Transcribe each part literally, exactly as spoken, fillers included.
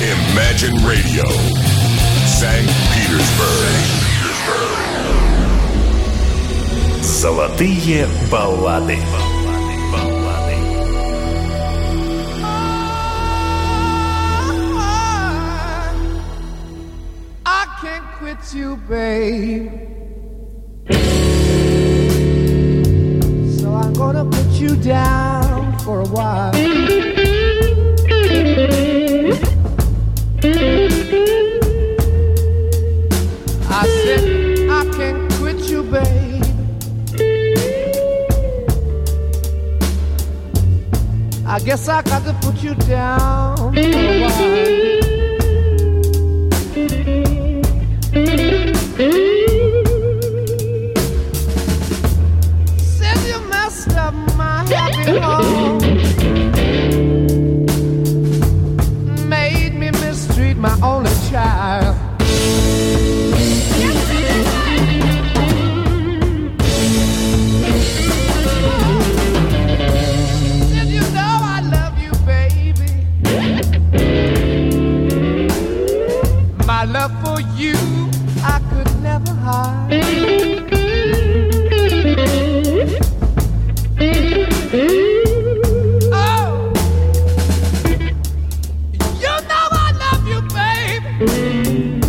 Imagine Radio, Санкт Петербург. Золотые баллады. I can't quit you, babe. So I'm gonna put you down for a while. I said I can't quit you, babe. I guess I got to put you down for a while. Said you messed up my happy home, made me mistreat my only child. Said you know I love you, baby. My love for you I could never hide. Oh, you know I love you, baby.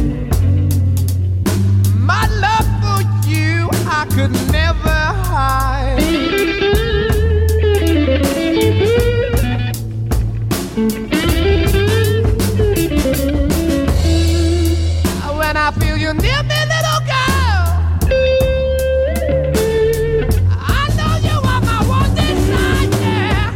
My love for you I could never hide. When I feel you near me, little girl, I know you are my one desire.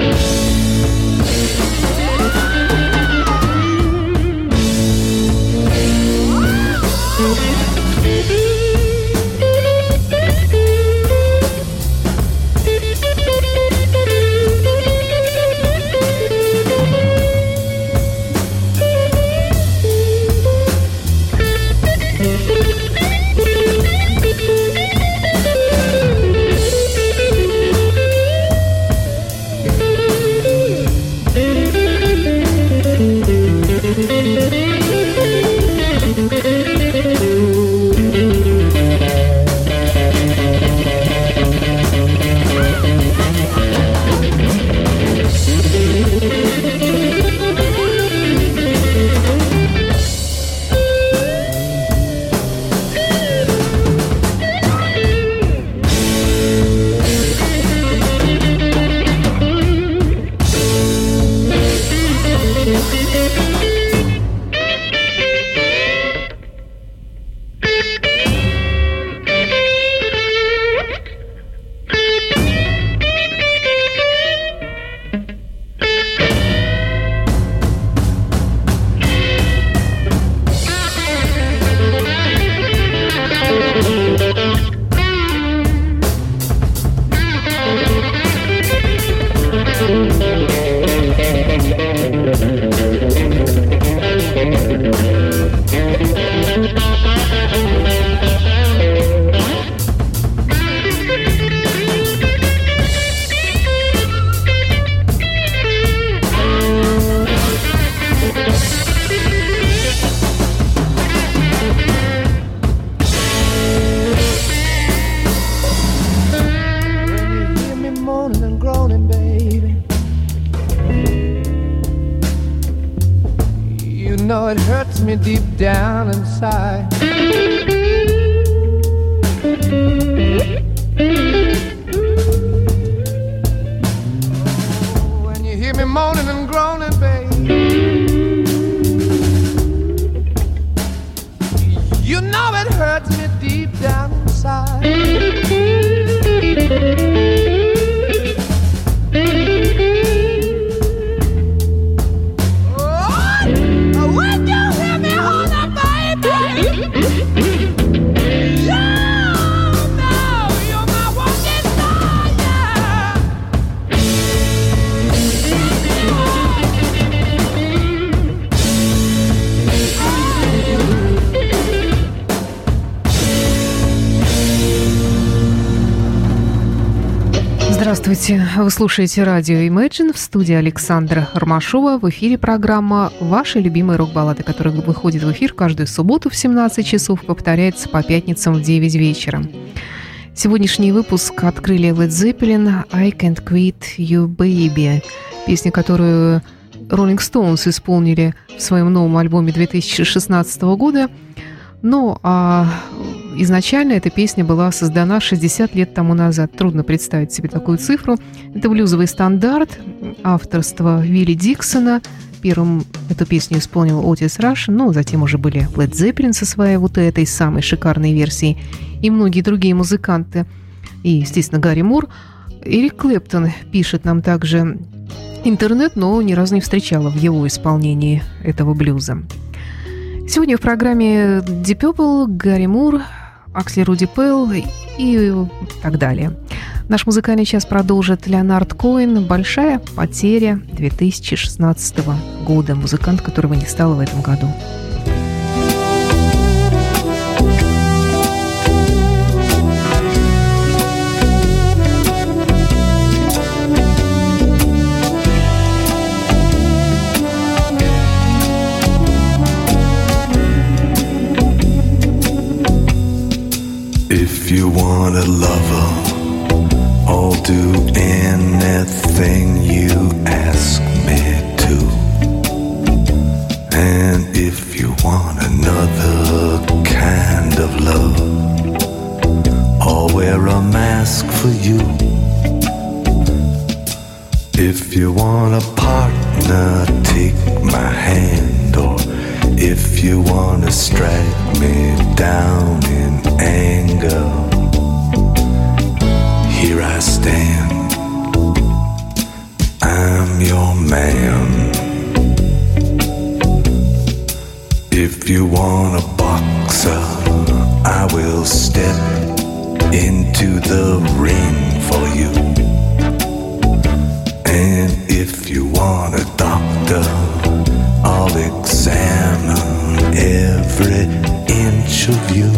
Deep down inside, when you hear me moaning and groaning, babe, you know it hurts me deep down inside. You know you're my one. Здравствуйте! Вы слушаете радио Imagine, в студии Александра Ромашова. В эфире программа «Ваши любимые рок-баллады», которая выходит в эфир каждую субботу в семнадцать часов и повторяется по пятницам в девять вечера. Сегодняшний выпуск открыли Led Zeppelin «I Can't Quit You Baby», песня, которую Rolling Stones исполнили в своем новом альбоме две тысячи шестнадцатого года. Ну, а изначально эта песня была создана шестьдесят лет тому назад. Трудно представить себе такую цифру. Это блюзовый стандарт авторства Вилли Диксона. Первым эту песню исполнил Отис Раш, но затем уже были Led Zeppelin со своей вот этой самой шикарной версией и многие другие музыканты. И, естественно, Гарри Мур. Эрик Клэптон пишет нам также интернет, но ни разу не встречала в его исполнении этого блюза. Сегодня в программе Deep Purple, Гарри Мур, Аксли Руди Пелл и так далее. Наш музыкальный час продолжит Леонард Коэн «Большая потеря» две тысячи шестнадцатого года. Музыкант, которого не стало в этом году. If you want a lover, I'll do anything you ask me to. And if you want another kind of love, I'll wear a mask for you. If you want a partner, take my hand. Or if you wanna strike me down in anger, here I stand, I'm your man. If you want a boxer, I will step into the ring for you. And if you want a doctor, I'll examine every inch of you.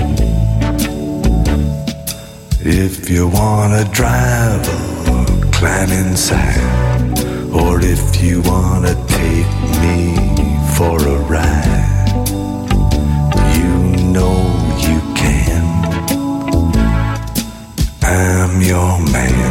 If you want a driver, climb inside. Or if you want to take me for a ride, you know you can. I'm your man.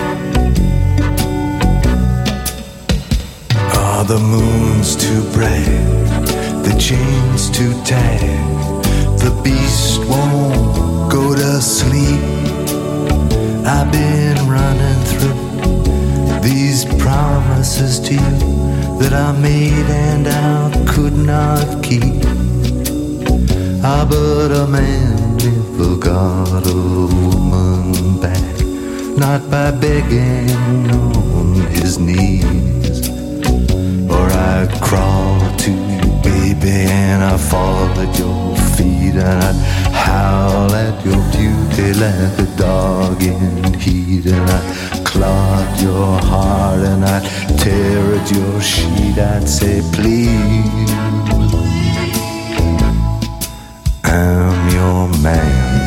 Are the moons too bright? The chains too tight? The beast won't go to sleep. I've been running through these promises to you that I made and I could not keep. Ah, but a man never got a woman back, not by begging on his knees. Or I'd crawl to you, baby, and I'd fall at your feet, and I'd howl at your beauty like a dog in heat, and I'd claw at your heart, and I'd tear at your sheet. I'd say, please, I'm your man.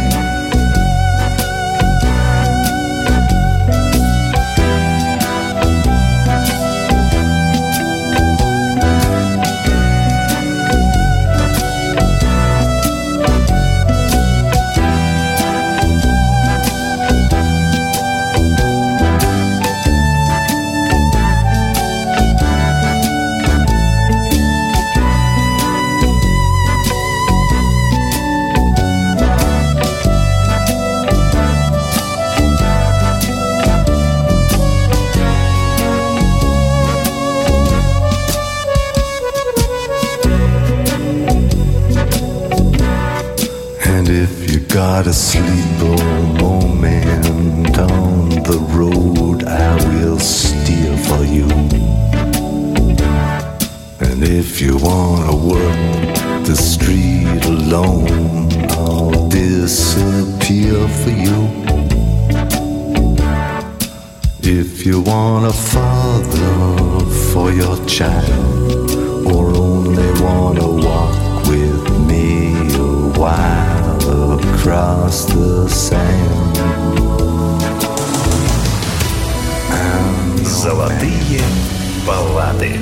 Got a sleeper moment on the road, I will steer for you. And if you wanna work the street alone, I'll disappear for you. If you want a father for your child, or only wanna walk with me a while across the sand, Золотые баллады.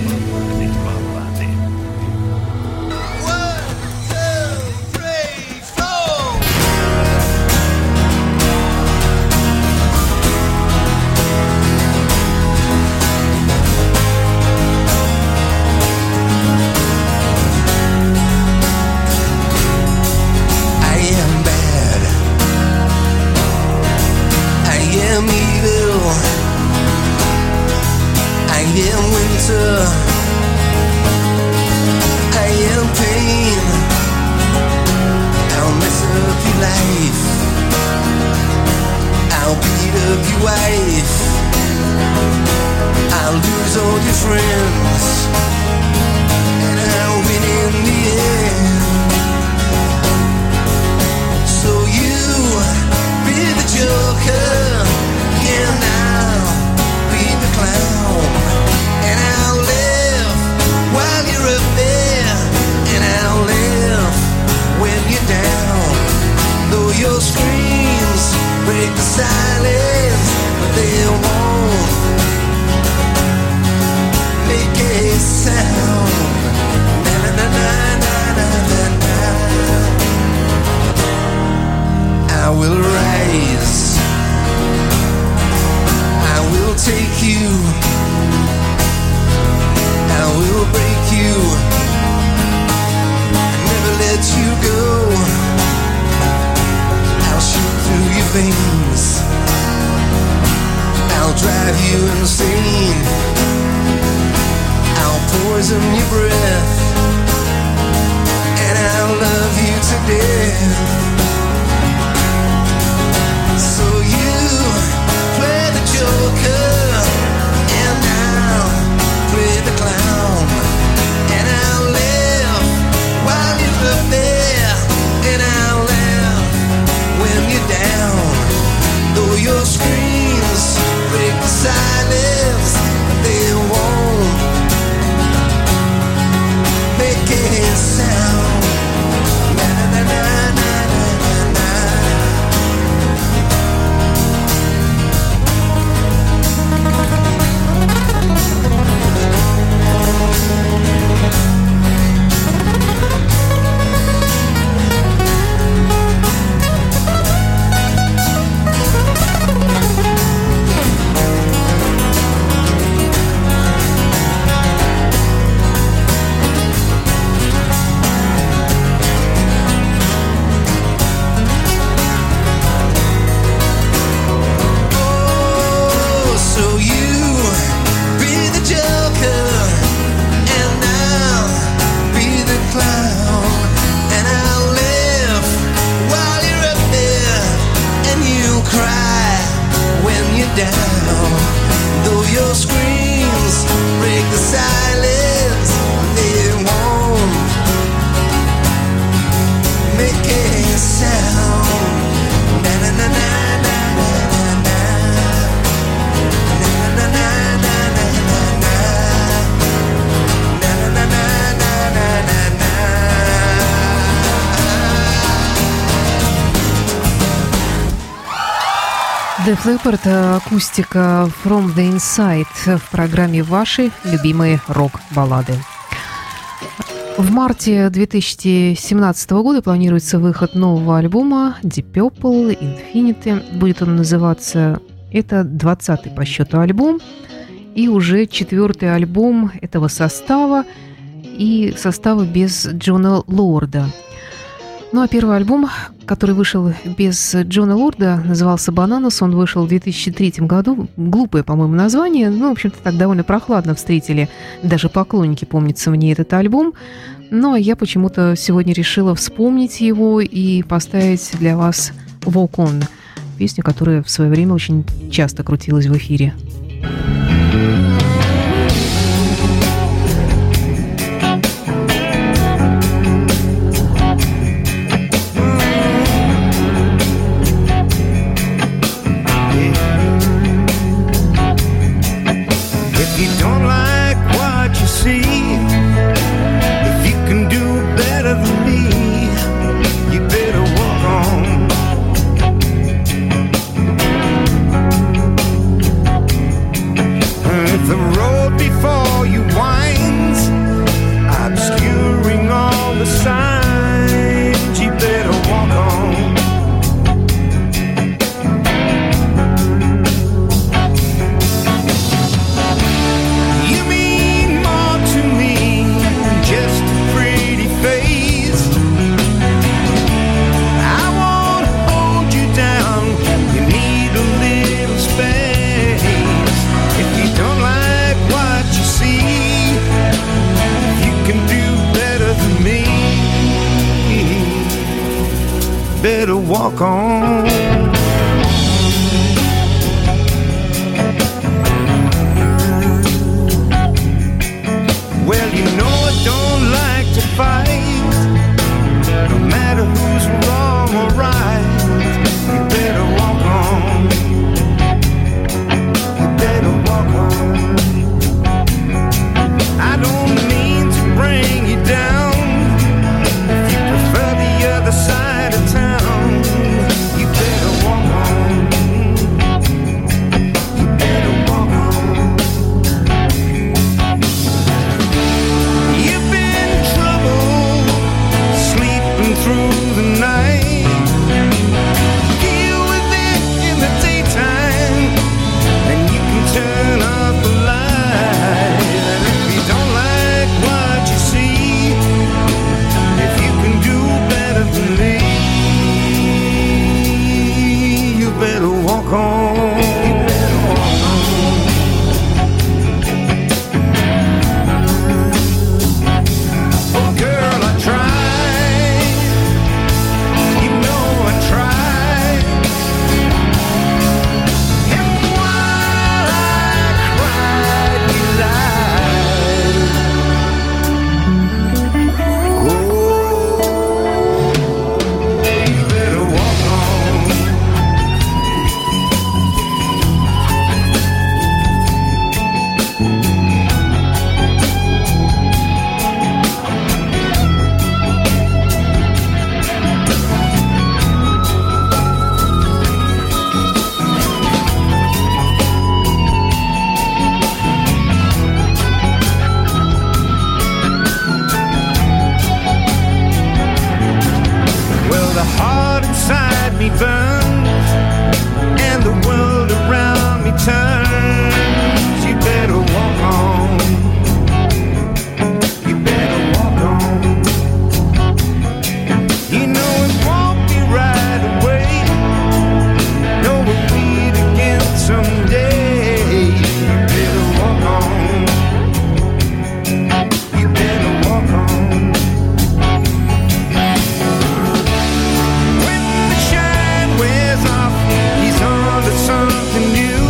Def Leppard, акустика From the Inside в программе «Ваши любимые рок-баллады». В марте две тысячи семнадцатого года планируется выход нового альбома Deep Purple Infinity. Будет он называться... Это двадцатый по счету альбом и уже четвертый альбом этого состава и состава без Джона Лорда. Ну а первый альбом, который вышел без Джона Лорда, назывался «Bananas». Он вышел в две тысячи третьем году. Глупое, по-моему, название. Ну, в общем-то, так довольно прохладно встретили даже поклонники, помнится мне, этот альбом. Но я почему-то сегодня решила вспомнить его и поставить для вас «Walk On», песню, которая в свое время очень часто крутилась в эфире. better walk on. Well, you know I don't like to fight, no matter who's wrong or right. You better walk on. You better walk on. I don't mean to bring you down. If you prefer the other side of town, you better walk on. You better walk on. You've been in trouble, sleeping through the night. Deal with it in the daytime, and you can turn off the light. And if you don't like what you see, if you can do better than me, you better walk on. You better walk on. Oh, girl, I tried. You know I tried. And while I cried, you lied. Oh, you better walk on. Well, the heart inside me burns, and the world around me turns. You better walk on. You better walk on. You know it won't be right away. No, we'll meet again someday. You better walk on. You better walk on. When the shine wears off, he's on to something new.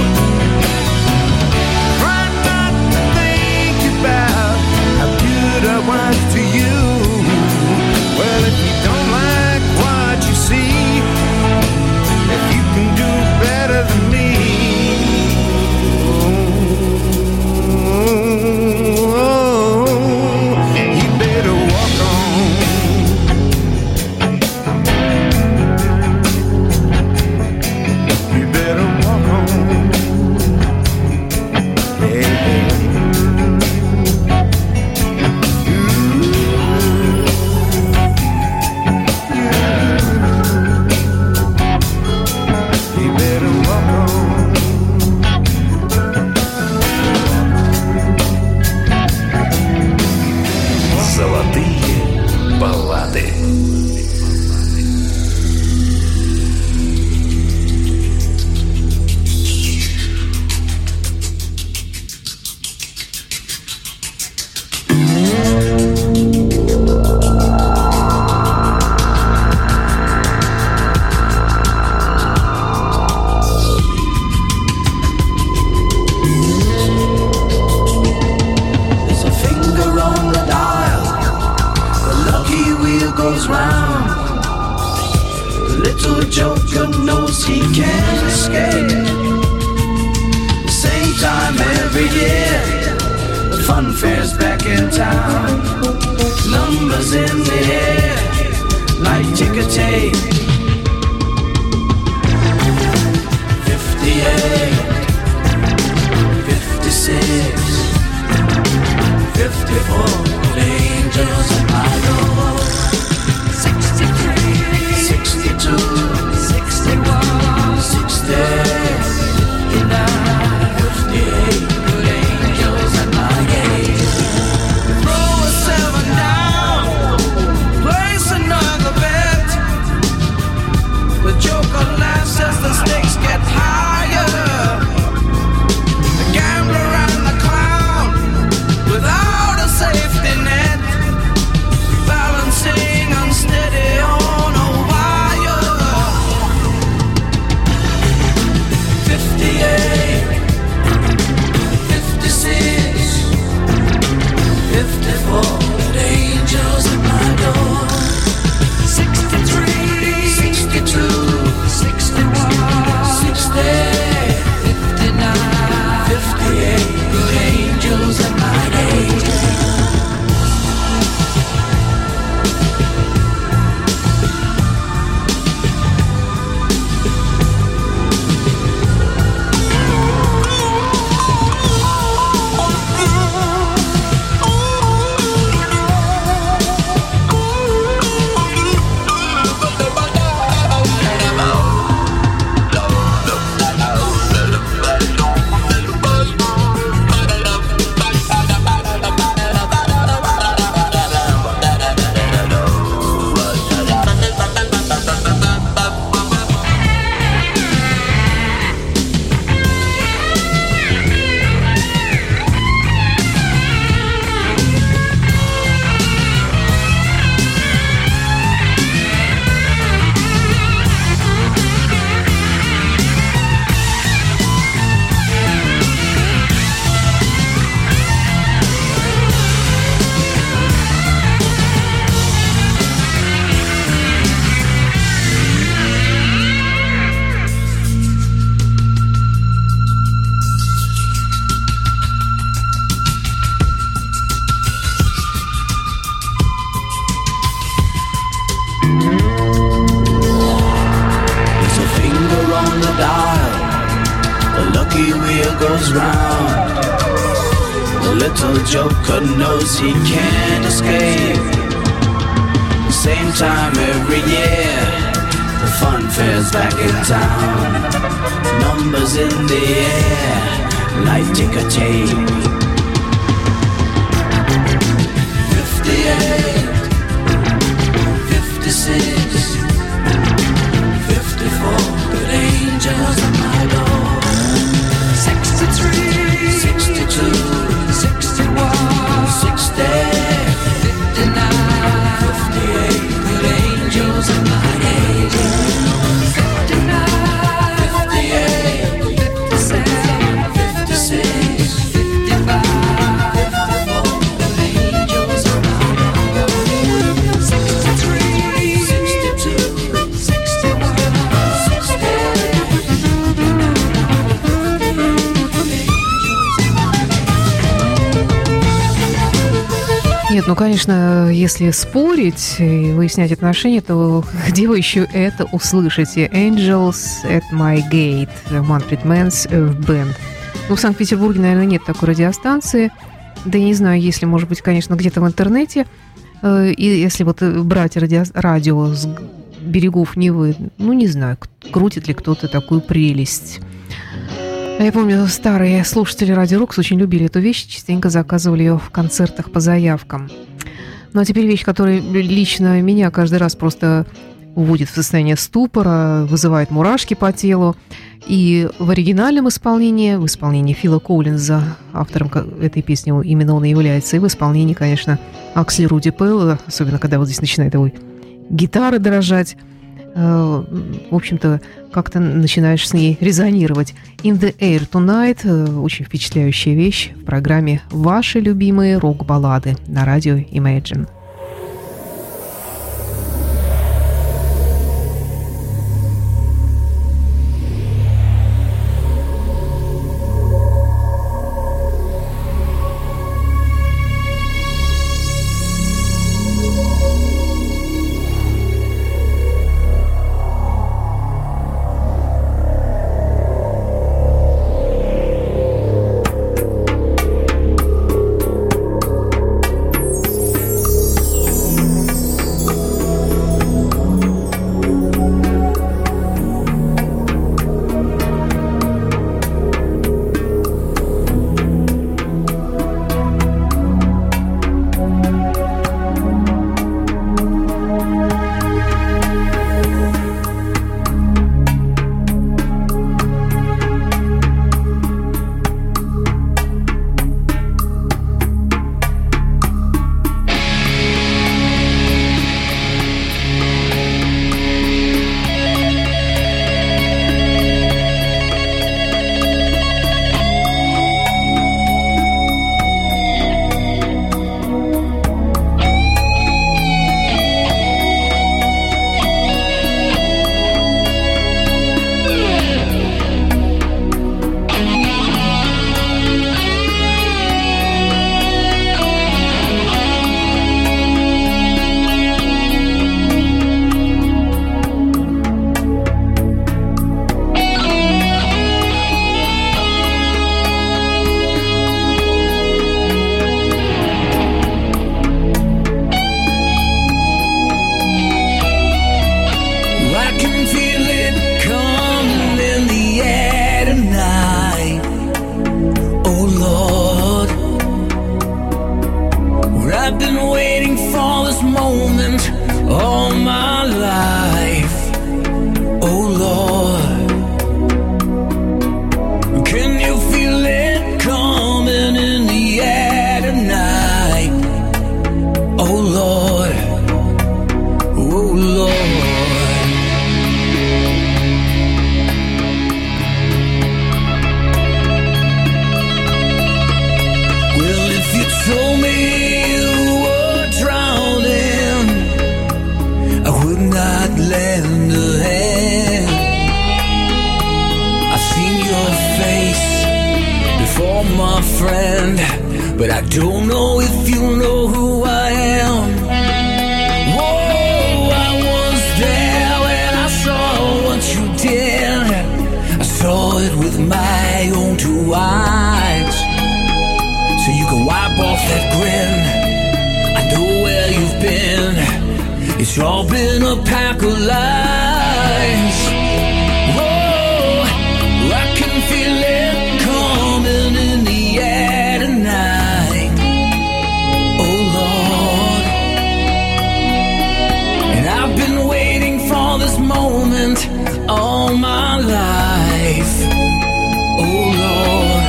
Try not to think about how good I was to you. Well, if you don't like what you see, if you can do better than me, oh, you better walk on. You better walk on. Yeah. You better walk on. Золотые баллады. There's a finger on the dial, the lucky wheel goes round. The little joker knows he can't escape. The same time every year, the fun fair's back in town. Numbers in the air, like ticker tape. Fifty-eight, fifty-six, fifty-four, angels at my door. Sixty-three, sixty-two, sixty-one, sixty, fifty-nine, fifty-eight, good angels at my gate. Throw a seven down, place another bet. The joker laughs as the stakes get higher. The gambler and the clown, without a safety lucky wheel goes round. The little joker knows he can't escape. The same time every year, the fun fair's back in town. Numbers in the air, like ticker tape. Fifty-eight, fifty-six, fifty-four, good angels on my door. Sixty-three, sixty-two, sixty-one, sixty, fifty-nine, fifty-eight, good angels on my door. Fifty-nine, fifty-eight, fifty-seven, fifty-six, fifty-five, fifty-four, good angels on my door. Sixty-three, sixty-two, sixty-one, sixty. Нет, ну, конечно, если спорить и выяснять отношения, то где вы еще это услышите? Angels at my gate, Manfred Mann's Band. Ну, в Санкт-Петербурге, наверное, нет такой радиостанции. Да я не знаю, если, может быть, конечно, где-то в интернете. И если вот брать радио, радио с берегов Невы, ну, не знаю, крутит ли кто-то такую прелесть. Я помню, старые слушатели Радио Рокс очень любили эту вещь, частенько заказывали ее в концертах по заявкам. Ну, а теперь вещь, которая лично меня каждый раз просто уводит в состояние ступора, вызывает мурашки по телу. И в оригинальном исполнении, в исполнении Фила Коллинза, автором этой песни именно он и является, и в исполнении, конечно, Аксли Руди Пелла, особенно когда вот здесь начинает его гитара дрожать, в общем-то, как-то начинаешь с ней резонировать. In the Air Tonight – очень впечатляющая вещь в программе «Ваши любимые рок-баллады» на радио Imagine. But I don't know if you know who I am. Whoa, I was there when I saw what you did. I saw it with my own It's all been a pack of lies. Whoa, I can feel it coming in the air tonight. Oh Lord, and I've been waiting for this moment all my life. Oh Lord,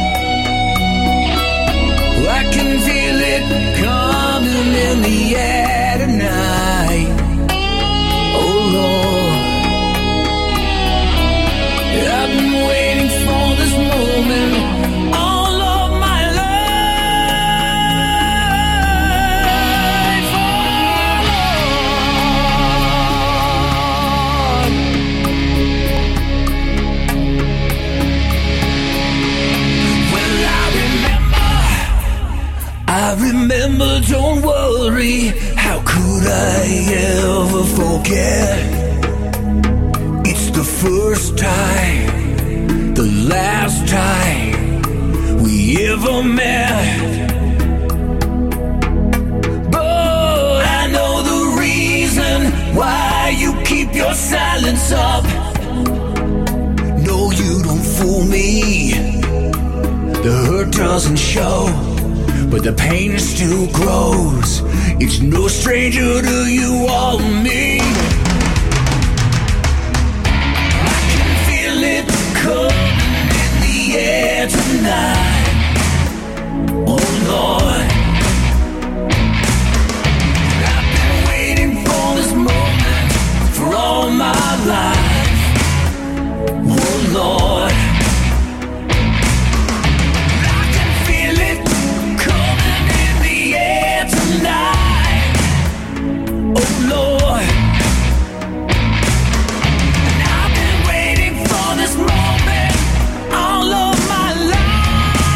I can feel it coming in the air tonight. Oh Lord, I've been waiting for this moment all of my life. Oh Lord, well I remember, I remember, don't worry. How could I ever forget? It's the first time, the last time we ever met. But I know the reason why you keep your silence up. No, you don't fool me. The hurt doesn't show, but the pain still grows. It's no stranger to you or me. I can feel it coming in the air tonight. Oh Lord, I've been waiting for this moment for all my life. Oh Lord, I can feel it coming in the air tonight. Oh Lord, and I've been waiting for this moment all of my life.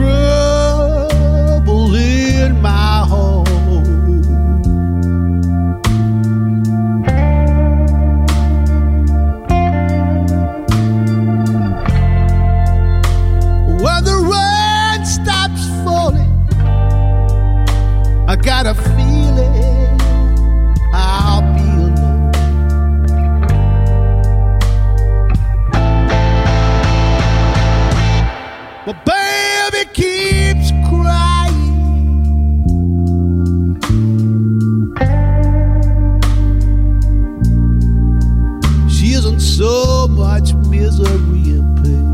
trouble in my home. When the rain stops falling, I got a feeling I'll be alone. My baby keeps crying. She isn't so much misery and pain.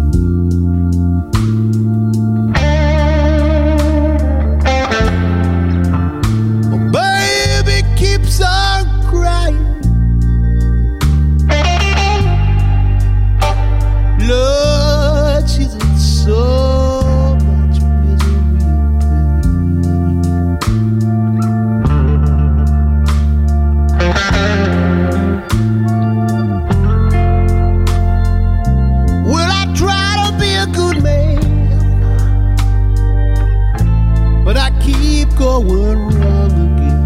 Going wrong again.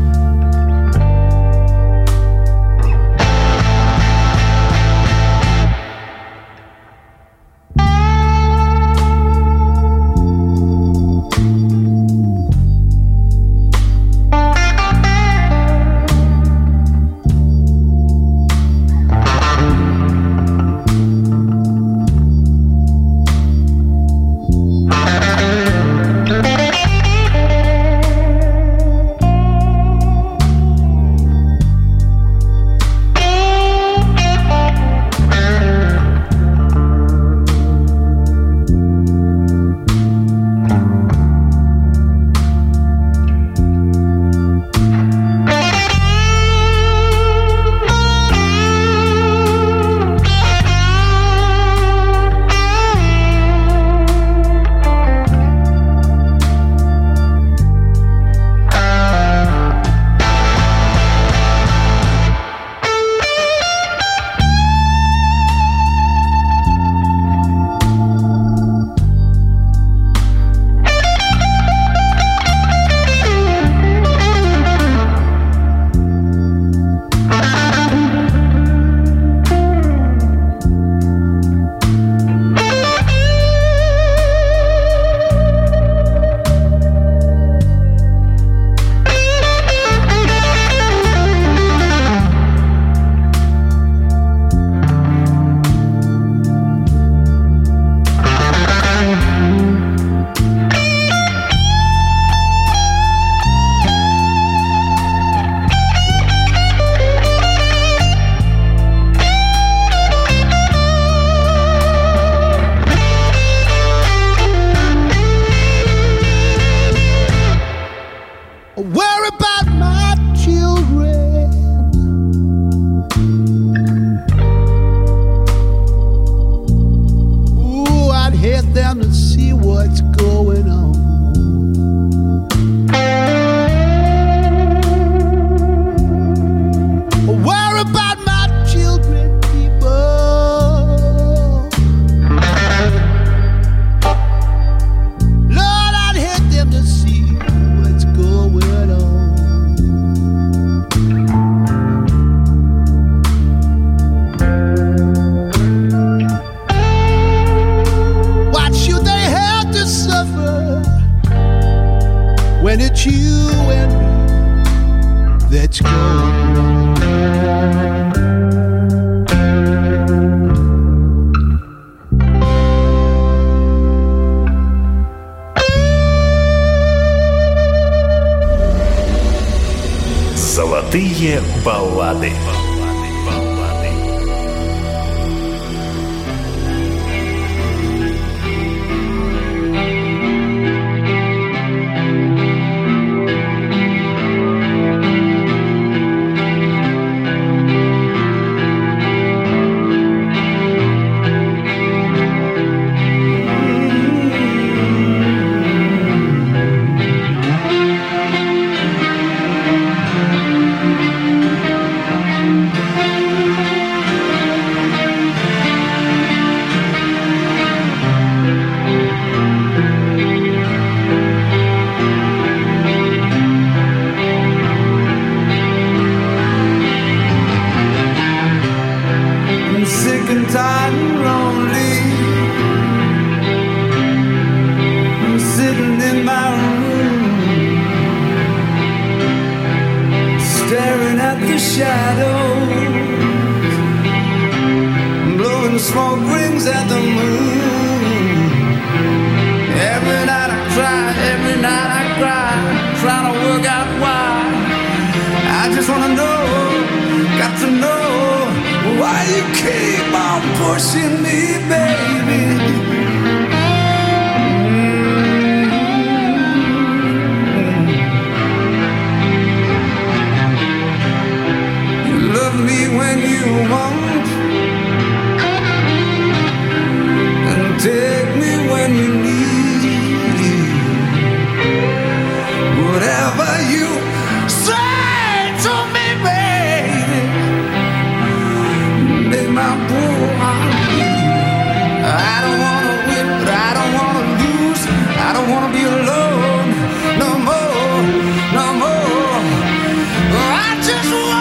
When it's you and me that's going wrong. Золотые баллады. shadows, blowing smoke rings at the moon. Every night I cry, every night I cry, trying to work out why. I just wanna know, got to know, why you keep on pushing me, baby. Me when you want and take me when you need. Whatever you say to me, baby, make my poor heart beat. I don't wanna win, but I don't wanna lose. I don't wanna be alone no more, no more. I just want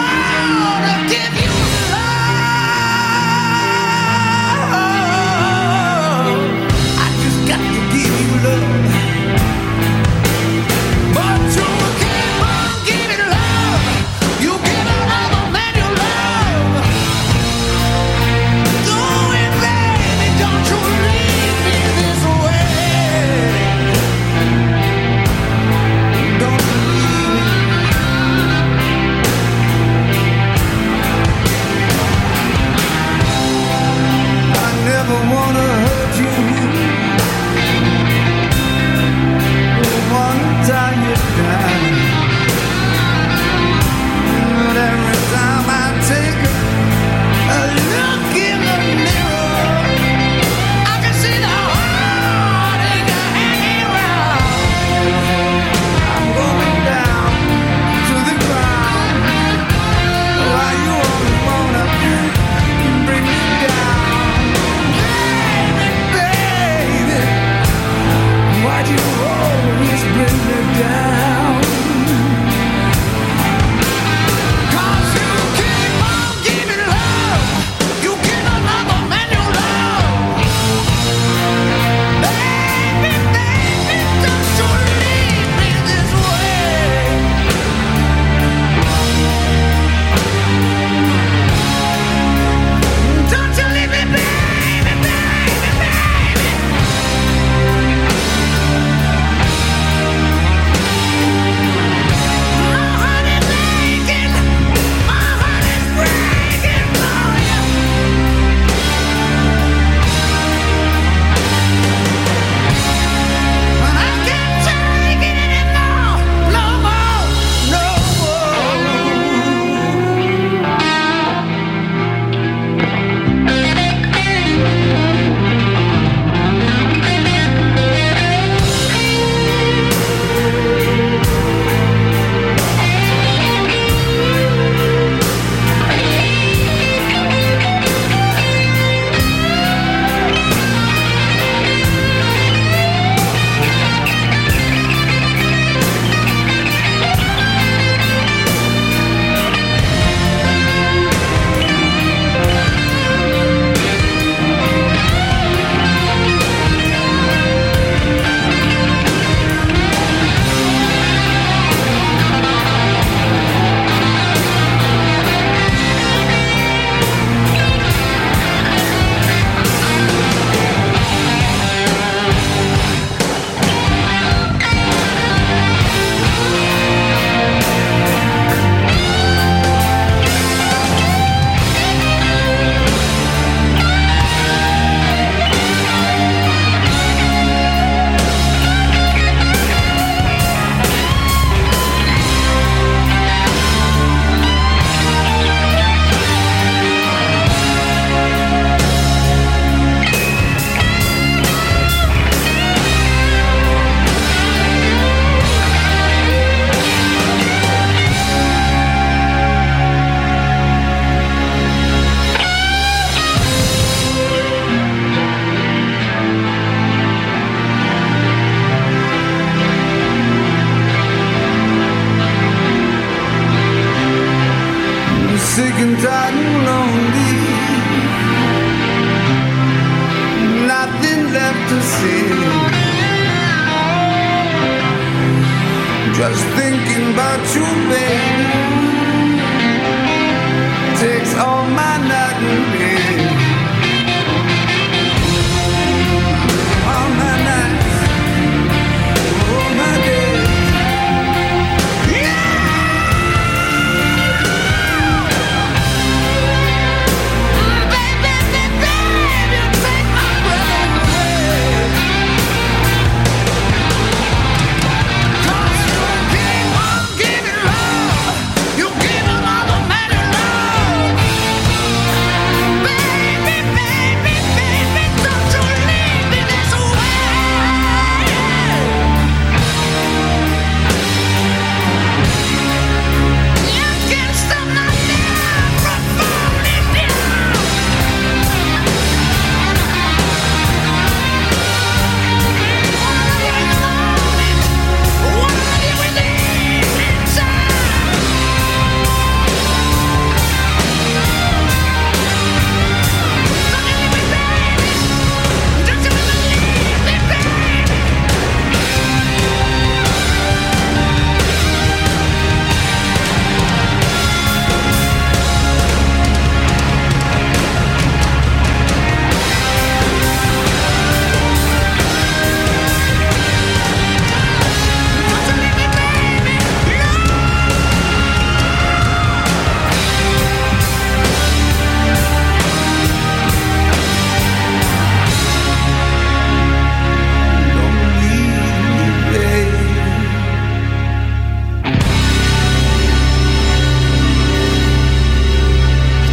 Just thinking about you, baby.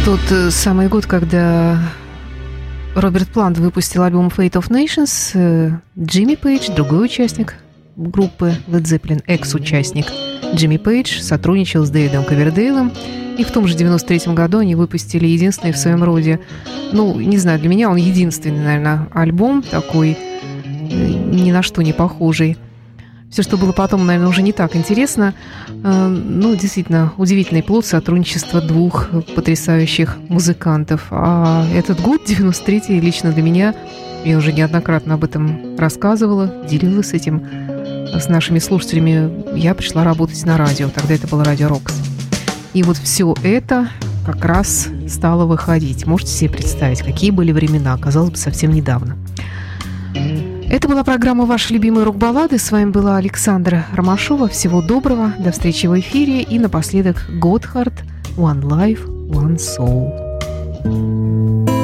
Тот самый год, когда Роберт Плант выпустил альбом Fate of Nations, Джимми Пейдж, другой участник группы Led Zeppelin, экс-участник Джимми Пейдж, сотрудничал с Дэвидом Ковердейлом. И в том же девяносто третьем году они выпустили единственный в своем роде, ну, не знаю, для меня он единственный, наверное, альбом такой, ни на что не похожий. Все, что было потом, наверное, уже не так интересно. Ну, действительно, удивительный плод сотрудничества двух потрясающих музыкантов. А этот год, девяносто третий, лично для меня, я уже неоднократно об этом рассказывала, делилась этим с нашими слушателями. Я пришла работать на радио, тогда это было Радио Рокс. И вот все это как раз стало выходить. Можете себе представить, какие были времена, казалось бы, совсем недавно. Это была программа «Ваши любимые рок-баллады». С вами была Александра Ромашова. Всего доброго, до встречи в эфире. И напоследок Готхард, One Life, One Soul.